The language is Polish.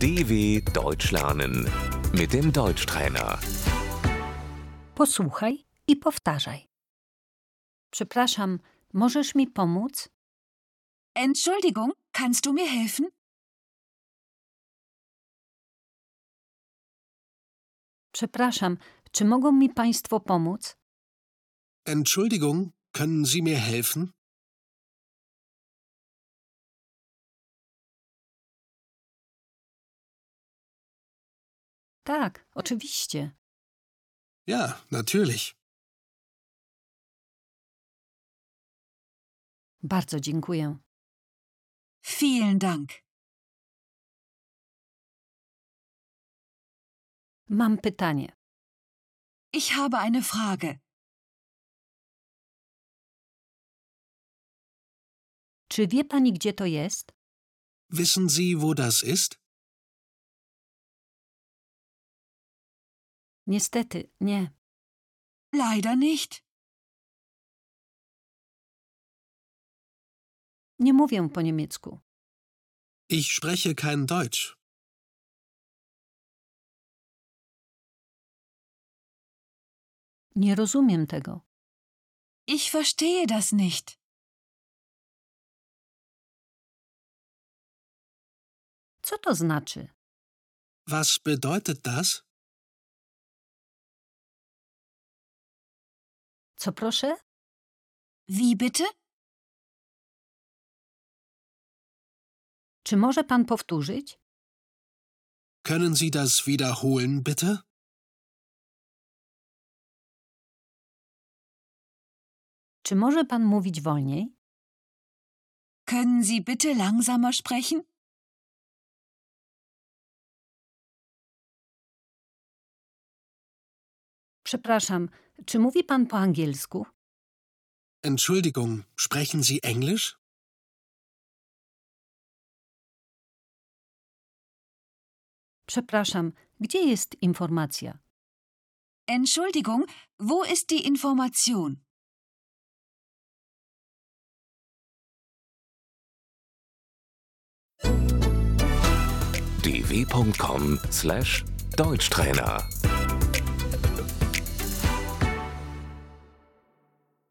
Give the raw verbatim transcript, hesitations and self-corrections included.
D W Deutsch lernen mit dem Deutschtrainer. Posłuchaj i powtarzaj. Przepraszam, możesz mi pomóc? Entschuldigung, kannst du mir helfen? Przepraszam, czy mogą mi państwo pomóc? Entschuldigung, können Sie mir helfen? Tak, oczywiście. Ja, natürlich. Bardzo dziękuję. Vielen Dank. Mam pytanie. Ich habe eine Frage. Czy wie pani, gdzie to jest? Wissen Sie, wo das ist? Niestety, nie. Leider nicht. Nie mówię po niemiecku. Ich spreche kein Deutsch. Nie rozumiem tego. Ich verstehe das nicht. Co to znaczy? Was bedeutet das? Co proszę? Wie bitte? Czy może pan powtórzyć? Können Sie das wiederholen, bitte? Czy może pan mówić wolniej? Können Sie bitte langsamer sprechen? Przepraszam, czy mówi pan po angielsku? Entschuldigung, sprechen Sie Englisch? Przepraszam, gdzie jest informacja? Entschuldigung, wo ist die Information? d w punkt com slash Deutschtrainer